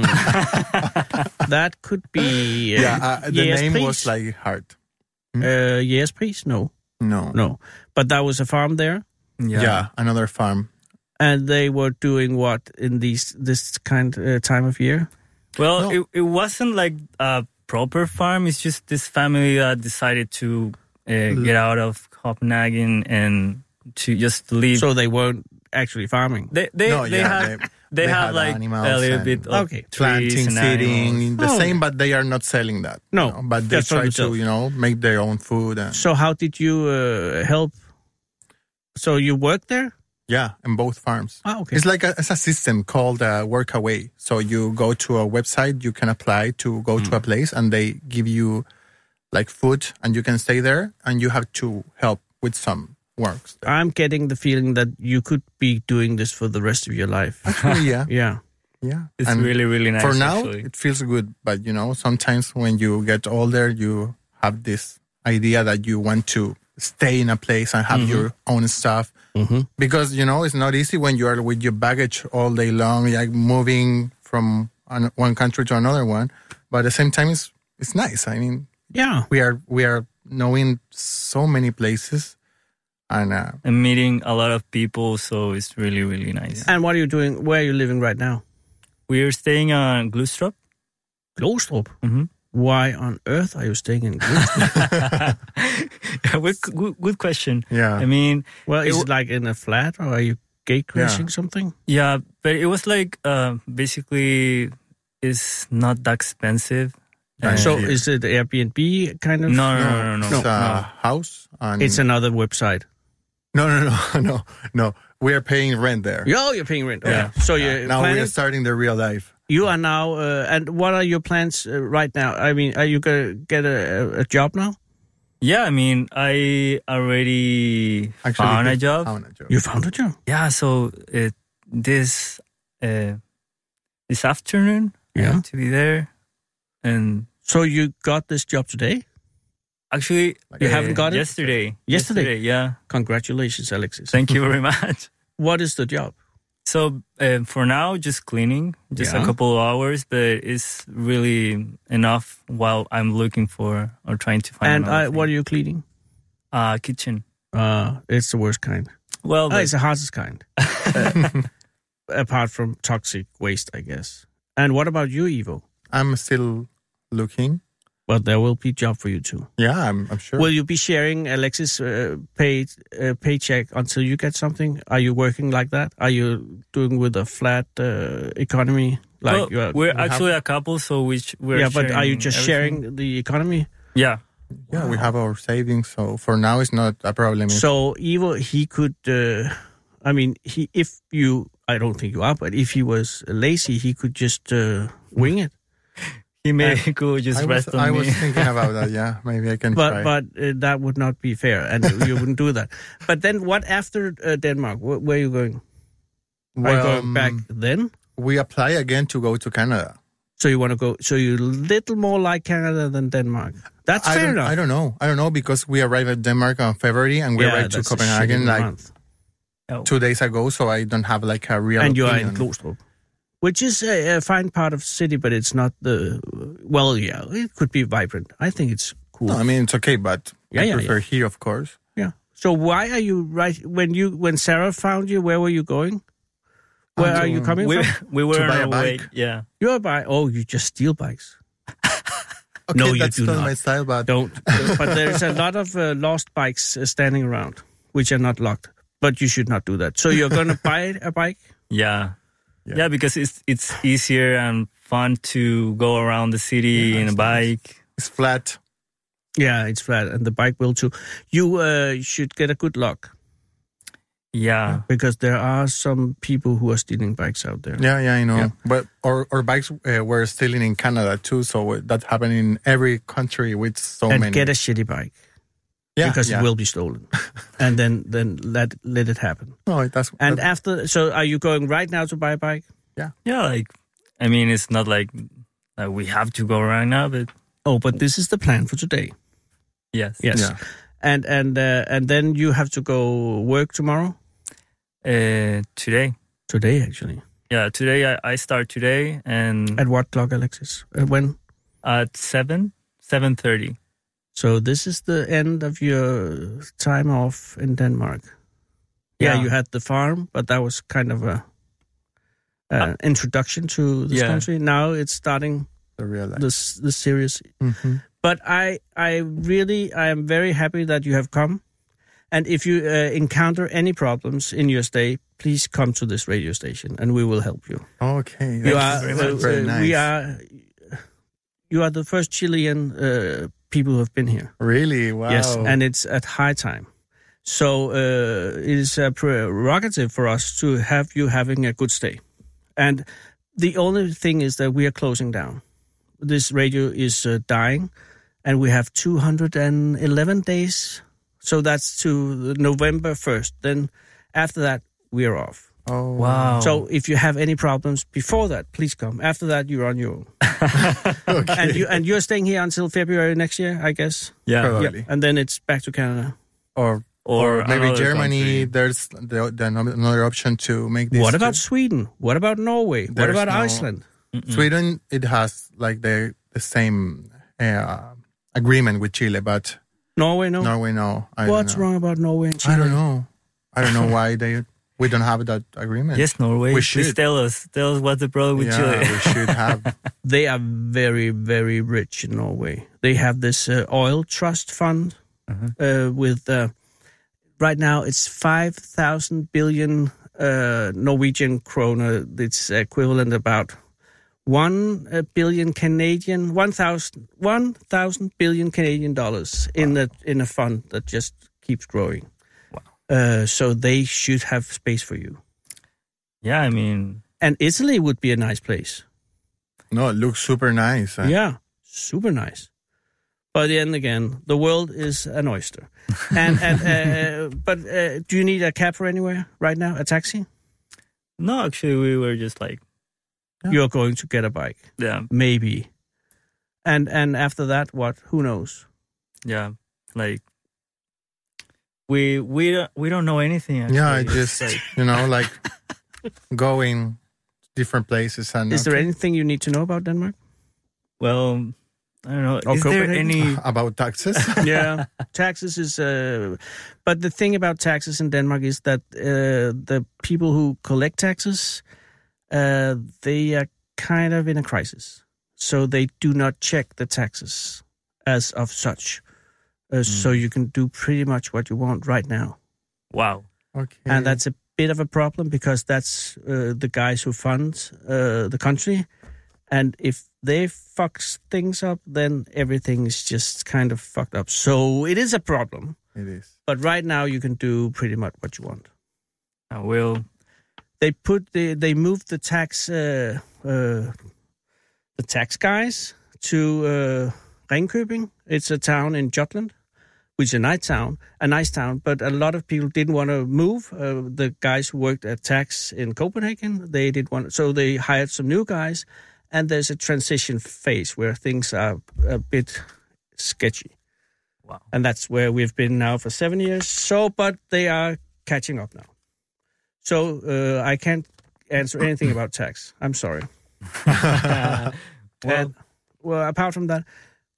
That could be... the name was like hard. Jægerspris? No. But that was a farm there? Yeah, another farm. And they were doing what in this kind time of year? Well, it wasn't like a proper farm. It's just this family that decided to get out of Copenhagen and to just leave. So they weren't actually farming? They have like a little bit of planting, seeding, the same, but they are not selling that. No, but they try to, make their own food. So how did you help? So you worked there? Yeah, in both farms. Oh, okay. It's like it's a system called Workaway. So you go to a website, you can apply to go to a place, and they give you like food, and you can stay there, and you have to help with some works there. I'm getting the feeling that you could be doing this for the rest of your life. Actually, yeah. Yeah. It's And really, really nice. for now, actually. it feels good. But, sometimes when you get older, you have this idea that you want to stay in a place and have your own stuff. Mm-hmm. Because, it's not easy when you are with your baggage all day long, like moving from one country to another one. But at the same time, it's nice. I mean, Yeah. we are knowing so many places. And meeting a lot of people, so it's really, really nice. And what are you doing? Where are you living right now? We're staying on Glostrup. Glostrup? Mm-hmm. Why on earth are you staying in Glostrup? Good question. yeah. I mean, Well, is it like in a flat, or are you gate crashing something? yeah, but it was like basically it's not that expensive. And So here. is it Airbnb kind of? No. It's a house. And It's another website. No. We are paying rent there. Oh, you're paying rent. Okay. Yeah. So you're Now we planning, are starting the real life. you are now, and what are your plans right now? I mean, are you going to get a job now? Yeah, I mean, I already found a job. You found a job? Yeah, so this afternoon I Yeah. have to be there, and So you got this job today? actually You haven't got it? yesterday. Yesterday? Yeah. Congratulations, Alexis. Thank you very much. What is the job? So for now, just cleaning, just Yeah. a couple of hours, but it's really enough while I'm looking for or trying to find. And another what are thing. you cleaning? Kitchen. It's the worst kind. Well, It's the hardest kind. Apart from toxic waste, I guess. And what about you, Ivo? I'm still looking. But there will be job for you too. Yeah, I'm sure. Will you be sharing Alexis' paycheck until you get something? Are you working like that? Are you doing with a flat economy? Like well, we're actually a couple, so we're yeah, but are you sharing just everything. sharing the economy? Yeah. Yeah, we have our savings, so for now it's not a problem. So Ivo, he could. I don't think you are, but if he was lazy, he could just wing it. He could just rest on I me. was thinking about that. Yeah, maybe I can try. But that would not be fair, and you wouldn't do that. But then, what after Denmark? Where are you going? Are you going back then? We apply again to go to Canada. So you want to go? So you're a little more like Canada than Denmark. That's fair enough. I don't know because we arrived at Denmark on February and we arrived to that's a Copenhagen shitty like month. 2 days ago. So I don't have like a real. And you are in opinion. Glostrup, which is a fine part of the city, but it's not the. Well, yeah, it could be vibrant. I think it's cool. No, I mean it's okay, but I prefer here, of course. Yeah. So why are you when Sarah found you? Where were you going? Where are you coming from? We were To on buy a our way. bike. Yeah. You're by. Oh, you just steal bikes. Okay, No, you that's do not not. my style, but Don't. But there's a lot of lost bikes standing around, which are not locked. But you should not do that. So you're going to buy a bike? Yeah. Yeah, because it's easier and fun to go around the city in a bike. it's flat. Yeah, it's flat, and the bike will too. You should get a good lock, Yeah. because there are some people who are stealing bikes out there. Yeah, I know. Yeah. But our bikes were stealing in Canada too, so that happened in every country with so And many. get a shitty bike, because it will be stolen, and then let it happen. No, that's And after, so are you going right now to buy a bike? Yeah, like, I mean, it's not like we have to go right now, but Oh, but this is the plan for today. yes. Yes. Yeah. And then you have to go work tomorrow? Today. Today, actually. Yeah, today I start today and At what clock, Alexis? When? at 7:30. So this is the end of your time off in Denmark. Yeah, you had the farm, but that was kind of a introduction to this country. Now it's starting the real life. the serious. Mm-hmm. But I am very happy that you have come. And if you encounter any problems in your stay, please come to this radio station, and we will help you. Okay, You are very much. Very nice. You are the first Chilean people who have been here. Really? Wow. Yes, and it's at high time. So it is a prerogative for us to have you having a good stay. And the only thing is that we are closing down. This radio is dying, and we have 211 days. So that's to November 1st. Then after that, we are off. Oh, Wow. So if you have any problems before that, please come. After that, you're on your own. okay. And you're staying here until February next year, I guess. Yeah. Probably. And then it's back to Canada. Or maybe another Germany. country. There's another option to make this. What about Sweden? What about Norway? What There's about no- Iceland? Sweden? It has like the same agreement with Chile, but Norway, no? Norway, no. I don't What's know. wrong about Norway and Chile? I don't know. I don't know why we don't have that agreement. Yes, Norway. We Please should. tell us what's the problem with yeah, Chile. we should have. They are very, very rich in Norway. They have this oil trust fund with, right now, it's 5,000 billion Norwegian kroner. It's equivalent about 1 billion Canadian, 1,000 billion Canadian dollars in a fund that just keeps growing. Wow. So they should have space for you. Yeah, I mean, And Italy would be a nice place. No, it looks super nice. Yeah, super nice. But then again, the world is an oyster. But do you need a cab for anywhere right now? A taxi? no, actually, we were just like, You're going to get a bike, yeah, maybe. And after that, what? Who knows? yeah, like we don't know anything. Actually. Yeah, I It's just like, like going different places and. Is there anything you need to know about Denmark? well, I don't know. Or Is there Copenhagen? any? about taxes? Yeah, taxes is. But the thing about taxes in Denmark is that the people who collect taxes, they are kind of in a crisis, so they do not check the taxes as of such. So you can do pretty much what you want right now, Wow. Okay. and that's a bit of a problem because that's the guys who fund the country, and if they fucks things up, then everything is just kind of fucked up. So it is a problem. It is. But right now you can do pretty much what you want. I will. They moved the tax guys to Ringkøbing. It's a town in Jutland, which is a nice town. But a lot of people didn't want to move. The guys who worked at tax in Copenhagen, they didn't want, so they hired some new guys. And there's a transition phase where things are a bit sketchy. Wow. And that's where we've been now for 7 years. So, but they are catching up now. So I can't answer anything about tax. I'm sorry. Well, apart from that,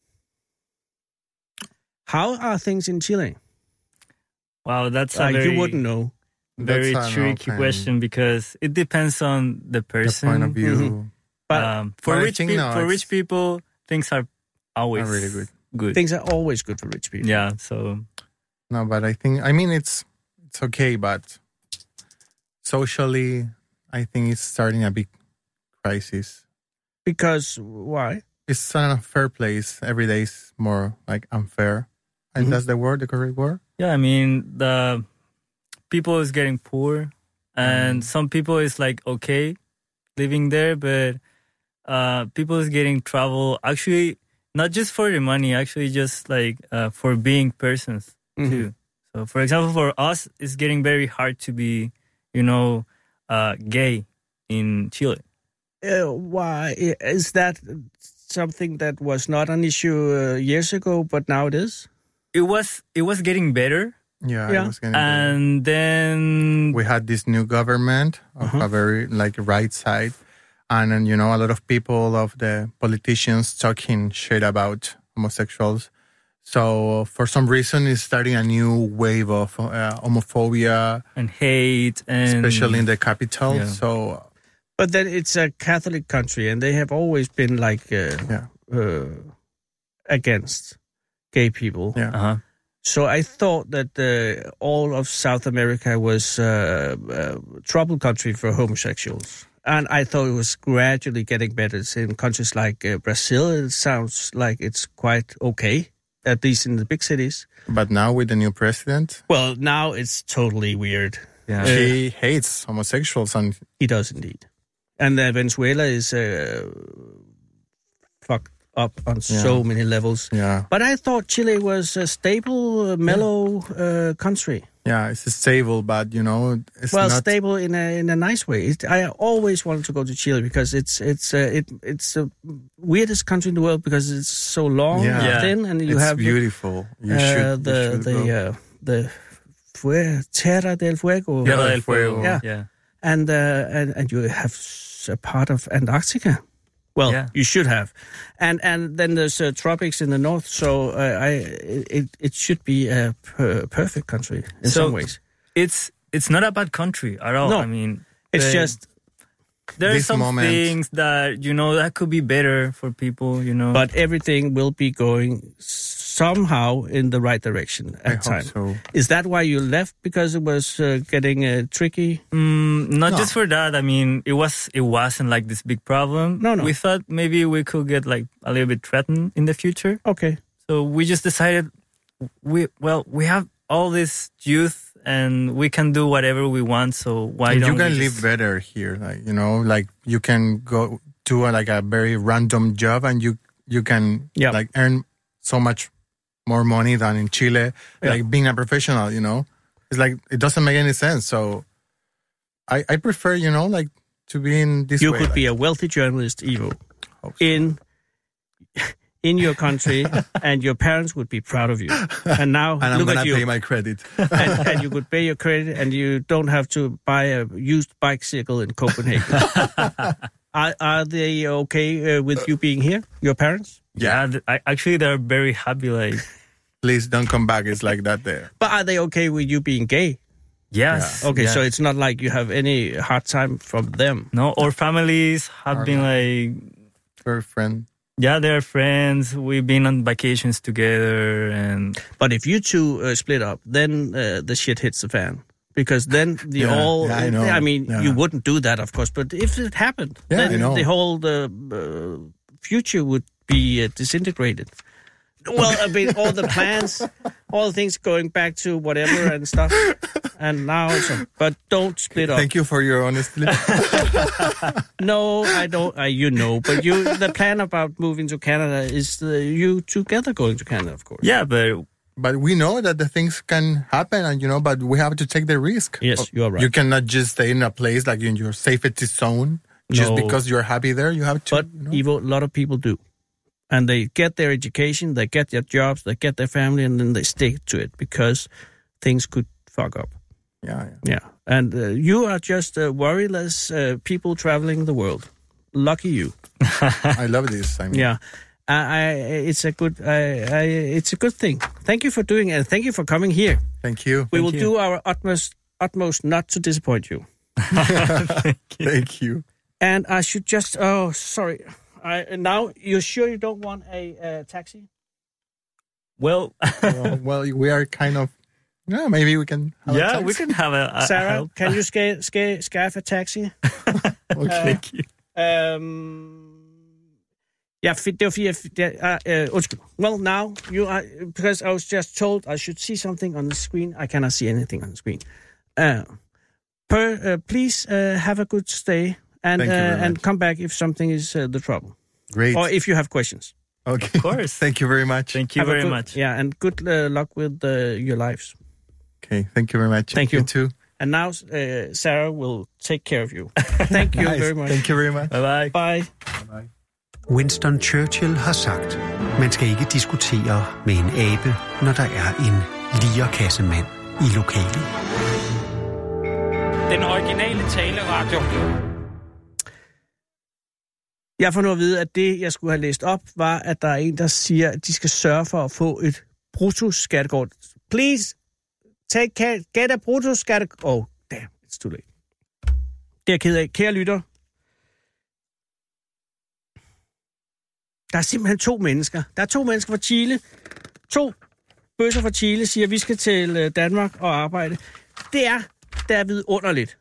how are things in Chile? Wow, that's a You wouldn't know. very That's an tricky open- question because it depends on the The person. point of view. Mhm. But For But I rich think people, now for it's- rich people, things are always Are really good. Good. things are always good for rich people. Yeah. So No, but I mean, it's okay, but socially, I think it's starting a big crisis. Because why? It's an unfair place. Every day is more like unfair. And that's the word, the correct word? yeah, I mean the people is getting poor, and some people is like okay living there, but people is getting trouble. Actually, not just for the money. Actually, just like for being persons too. So, for example, for us, it's getting very hard to be, gay in Chile. Why? Is that something that was not an issue years ago, but now it is? It was getting better, Yeah, Yeah. it was getting better. and then We had this new government of a very right side. And then, a lot of people, of the politicians talking shit about homosexuals. So for some reason, it's starting a new wave of homophobia, and hate, and especially in the capital. Yeah. So But then it's a Catholic country, and they have always been like against gay people. yeah. Uh-huh. So I thought that all of South America was a trouble country for homosexuals. And I thought it was gradually getting better. It's in countries like Brazil, it sounds like it's quite okay, at least in the big cities. But now with the new president, Well, now it's totally weird. Yeah. she hates homosexuals, and He does indeed. And Venezuela is fucked up on so many levels. Yeah. But I thought Chile was a stable, mellow country. Yeah, it's stable, but it's well, not stable in a nice way. I always wanted to go to Chile because it's the weirdest country in the world because it's so long and thin, and you have beautiful. You should the Tierra del Fuego. Tierra del Fuego. Yeah. And you have a part of Antarctica. Well, you should have, and then there's tropics in the north. So it should be a perfect country in some ways. It's not a bad country at all. No, I mean, it's just there are some things that that could be better for people. But everything will be going somehow in the right direction at time. So. Is that why you left? Because it was getting tricky? Not just for that. I mean, it wasn't like this big problem. No. We thought maybe we could get like a little bit threatened in the future. Okay. So we just decided we have all this youth and we can do whatever we want. So why don't you can live better here? Like you can go to a very random job and you can like earn so much more money than in Chile, like being a professional, It's like, it doesn't make any sense. So I prefer, like to be in this way. You could be a wealthy journalist, Ivo, in your country, and your parents would be proud of you. And now, and look I'm at you. Pay my credit. and you could pay your credit, and you don't have to buy a used bicycle in Copenhagen. Are they okay with you being here, your parents? Yeah, actually, they're very happy. Like, please don't come back. It's like that there. But are they okay with you being gay? Yes. Yeah. Okay, yes. So it's not like you have any hard time from them. No, our families have been like... We're friends. Yeah, they're friends. We've been on vacations together. But if you two split up, then the shit hits the fan. Because then I know. I mean, you wouldn't do that, of course. But if it happened, then the whole future would be disintegrated. Well, I mean, all the plans, all the things going back to whatever and stuff. And now, but don't split up. Thank you for your honesty. No, I don't. But the plan about moving to Canada is you together going to Canada, of course. Yeah, but we know that the things can happen, and but we have to take the risk. Yes, you are right. You cannot just stay in a place like in your safety zone just because you're happy there. You have to. But Ivo, a lot of people do. And they get their education, they get their jobs, they get their family, and then they stick to it because things could fuck up. Yeah. And you are just worryless people traveling the world. Lucky you. I love this. I mean. Yeah. It's a good thing. Thank you for doing it. Thank you for coming here. Thank you. We will do our utmost not to disappoint you. Thank you. And I should just... Oh, sorry. Now, you're sure you don't want a taxi? Well, we are kind of... Yeah, maybe we can have a taxi. We can have a Sarah, can you scarf a taxi? Okay. Thank you. Undskyld. Well, now, you are... Because I was just told I should see something on the screen. I cannot see anything on the screen. Please have a good stay. And come back if something is the trouble. Great. Or if you have questions. Okay. Of course. Thank you very much. Thank you very much. Yeah, and good luck with your lives. Okay, thank you very much. Thank you. You too. And now Sarah will take care of you. Thank you very much. Thank you very much. Bye-bye. Bye. Bye-bye. Winston Churchill har sagt, man skal ikke diskutere med en abe, når der er en lierkassemand i lokalet. Den originale taleradio. Jeg får nu at vide, at det, jeg skulle have læst op, var, at der er en, der siger, at de skal sørge for at få et bruttoskattekort. Please, get a bruttoskattekort. Oh, damn, it's too late. Det er jeg ked af. Kære lytter, der er simpelthen to mennesker. Der er to mennesker fra Chile. To bøsser fra Chile siger, at vi skal til Danmark og arbejde. Det er vidunderligt.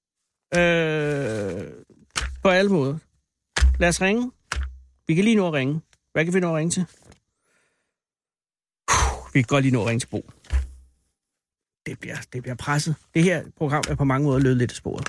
På alle måder. Lad os ringe. Vi kan lige nå at ringe. Hvad kan vi nå at ringe til? Vi kan godt lige nå at ringe til Bo. Det bliver presset. Det her program er på mange måder løbet lidt af sporet.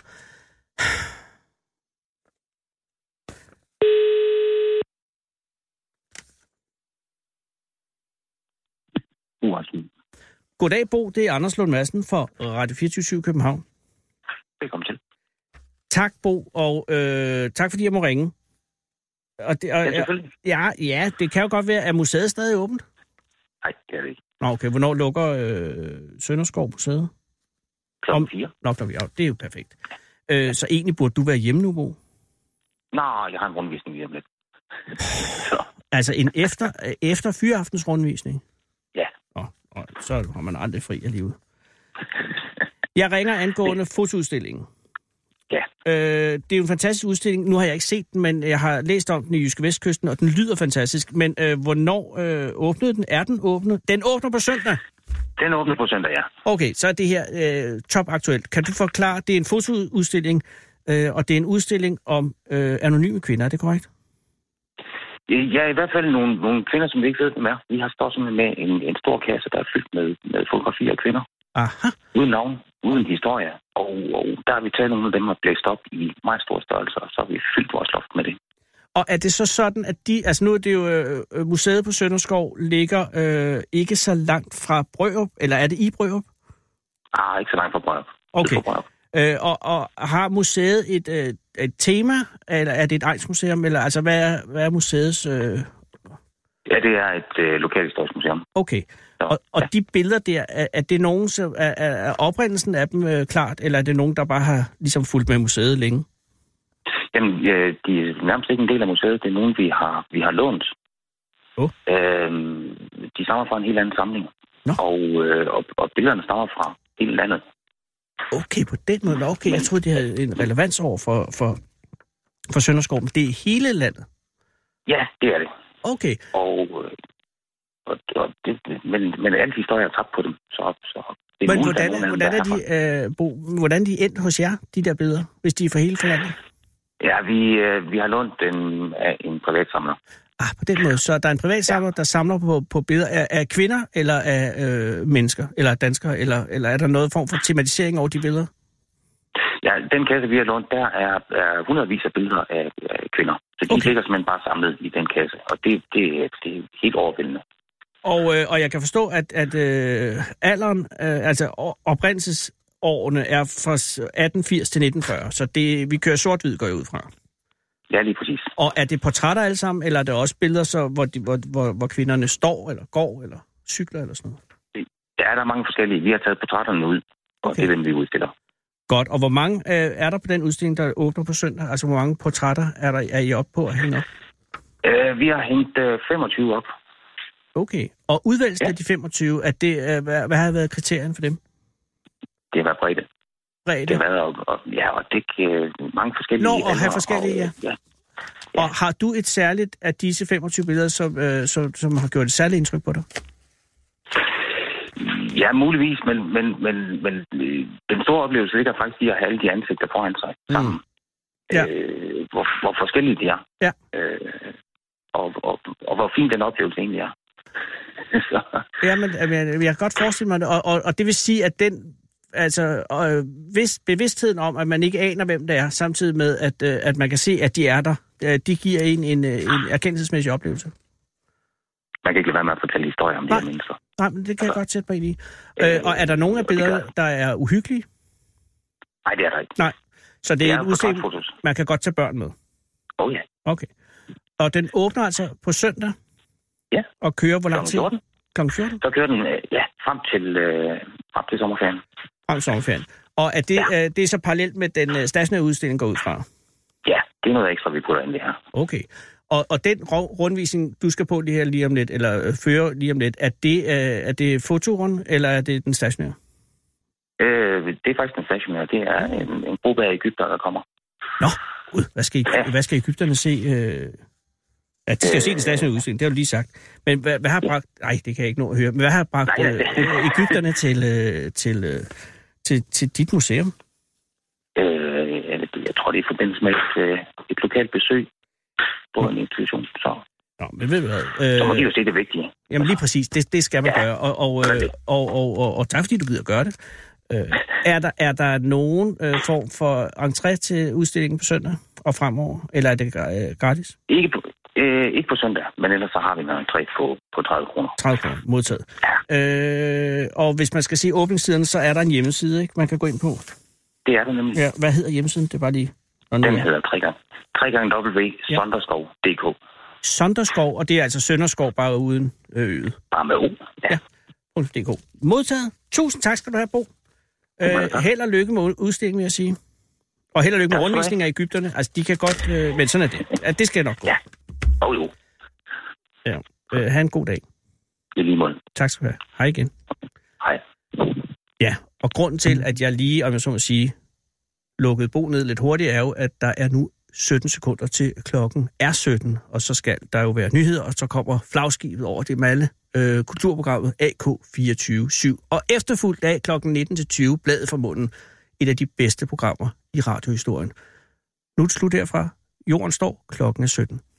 Rasmus. Goddag, Bo. Det er Anders Lund Madsen for Radio 24 København. Velkommen til. Tak, Bo, og tak fordi jeg må ringe. Ja, selvfølgelig. Ja, det kan jo godt være, at museet stadig åbent? Nej, det er det ikke. Nå, okay. Hvornår lukker Sønderskov museet? Klokken 4. Nå, det er jo perfekt. Så egentlig burde du være hjemme nu, Bo? Nej, jeg har en rundvisning lige om lidt. Altså en efter fyraftens rundvisning? Ja. Og så har man aldrig fri alligevel. Jeg ringer angående fotoudstillingen. Ja. Det er jo en fantastisk udstilling. Nu har jeg ikke set den, men jeg har læst om den i Jyske Vestkysten, og den lyder fantastisk. Men hvornår åbnede den? Er den åbnet? Den åbner på søndag? Den åbner på søndag, ja. Okay, så er det her topaktuelt. Kan du forklare, det er en fotoudstilling, og det er en udstilling om anonyme kvinder, er det korrekt? Ja, i hvert fald nogle kvinder, som vi ikke ved, hvem er. Vi har stået simpelthen med en stor kasse, der er fyldt med fotografier af kvinder. Aha. Uden navn, uden historie. Og der har vi taget nogle af dem og blæst op i meget store størrelser, og så har vi fyldt vores loft med det. Og er det så sådan, at nu er det jo, museet på Sønderskov ligger ikke så langt fra Brørup, eller er det i Brørup? Ikke så langt fra Brørup. Okay. Og har museet et tema, eller er det et egnsmuseum, eller altså hvad er museets... Ja, det er et lokalhistorisk museum. Okay. Og de billeder der, er det nogen, er oprindelsen af dem klart, eller er det nogen, der bare har ligesom fulgt med museet længe? Jamen, de er nærmest ikke en del af museet. Det er nogen, vi har lånt. De stammer fra en helt anden samling. Og billederne stammer fra hele landet. Okay, på den måde. Okay, jeg troede, det havde en relevans over for Sønderskov, men det er hele landet? Ja, det er det. Okay. Men alle historier er tabt på dem. Men hvordan er de endt hos jer, de der billeder, hvis de er fra hele landet? Ja, vi har lånt den af en privatsamler. På den måde. Så der er en privatsamler, der samler på billeder af kvinder, eller af mennesker, eller danskere, eller er der noget form for tematisering over de billeder? Ja, den kasse, vi har lånt, der er hundredvis af billeder af kvinder. Så de ligger simpelthen bare samlet i den kasse, og det er helt overvældende. Og jeg kan forstå, at alderen, altså oprindelsesårene er fra 1880 til 1940, så vi kører sort-hvid, går jeg ud fra. Ja, lige præcis. Og er det portrætter alle sammen, eller er det også billeder, så, hvor kvinderne står, eller går, eller cykler, eller sådan noget? Ja, der er mange forskellige. Vi har taget portrætterne ud, og det er dem, vi udstiller. Godt, og hvor mange er der på den udstilling, der åbner på søndag? Altså, hvor mange portrætter er I oppe på at hænge op? Vi har hængt 25 op. Okay, og udvælgelsen af de 25, hvad har været kriterien for dem? Det har været bredde. Det har været, og det er mange forskellige... og have forskellige, ja. Og har du et særligt af disse 25 billeder, som har gjort et særligt indtryk på dig? Ja, muligvis, men den store oplevelse ligger faktisk i at have alle de ansigter foran sig sammen. Ja. Hvor forskellige de er. Ja. Og hvor fin den oplevelse egentlig er. Jamen, jeg kan godt forestille mig det, og det vil sige, at den... Altså, hvis bevidstheden om, at man ikke aner, hvem det er, samtidig med, at man kan se, at de er der, de giver en erkendelsesmæssig oplevelse. Man kan ikke lade være med at fortælle historier om de her mennesker. Nej, men det kan jeg godt sætte mig ind i. Og er der nogen af billederne, der er uhyggelige? Nej, det er der ikke. Nej, så det er en udstilling, man kan godt tage børn med? Ja. Okay. Og den åbner altså på søndag? Ja. Og kører hvor lang tid? Kl. 14? Så kører den, frem til sommerferien. Frem til sommerferien. Og er det, det er så parallelt med den stationære udstilling går ud fra? Ja, det er noget ekstra, vi putter ind det her. Okay. Og den rundvisning, du skal på det her lige om lidt, eller føre lige om lidt, er det fotorund, eller er det den stationære? Det er faktisk den stationære. Det er en gruppe af egypter, der kommer. Nå, hvad skal egypterne se? Ja, de skal se den stationære udstilling, det har du lige sagt. Men hvad har bragt... Nej, det kan jeg ikke nå at høre. Men hvad har bragt egypterne til dit museum? Jeg tror, det er i forbindelse med et lokalt besøg på en institution. Nå, men ved du hvad? Så må de jo se det vigtige. Jamen lige præcis, det skal man gøre. Og tak fordi du gider gøre det. Er der nogen form for entré til udstillingen på søndag og fremover? Eller er det gratis? Ikke på søndag, men ellers så har vi en entré på 30 kroner. 30 kroner, modtaget. Ja. Og hvis man skal se åbningstiderne, så er der en hjemmeside, ikke? Man kan gå ind på. Det er der nemlig. Ja, hvad hedder hjemmesiden? Det er bare lige... Den hedder 3x.sonderskov.dk. Sonderskov, og det er altså Sønderskov, bare uden øget. Bare med O, ja. .dk. Modtaget. Tusind tak skal du have, Bo. Held og lykke med udstillingen, vil jeg sige. Og held og lykke med rundvisninger af Egypterne. Altså, de kan godt... men sådan er det. Ja, det skal nok gå. Ja. Jo. Ja. Ha' en god dag. I lige måde. Tak skal du have. Hej igen. Hej. Ja, og grunden til, at jeg lige, om jeg så må sige, lukkede Bo ned lidt hurtigt, er jo, at der er nu 17 sekunder til klokken er 17, og så skal der jo være nyheder, og så kommer flagskibet over det malle kulturprogrammet AK24/7. Og efterfulgt af klokken 19-20, Bladet fra munden, et af de bedste programmer i radiohistorien. Nu er det slut herfra. Jorden står, klokken er 17.